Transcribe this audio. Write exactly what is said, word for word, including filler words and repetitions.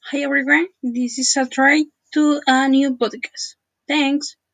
Hi everyone, this is a try to a new podcast. Thanks.